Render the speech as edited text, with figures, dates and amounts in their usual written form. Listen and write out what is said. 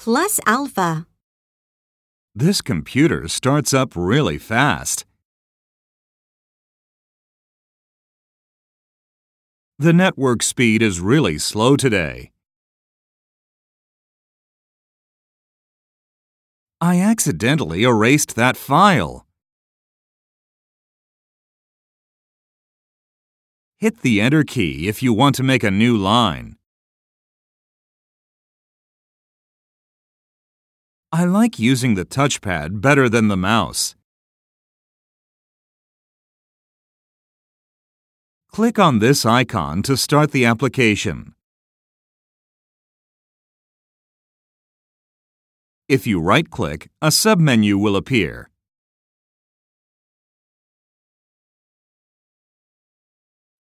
plus alpha. This computer starts up really fast. The network speed is really slow today. I accidentally erased that file. Hit the Enter key if you want to make a new line. I like using the touchpad better than the mouse. Click on this icon to start the application. If you right-click, a submenu will appear.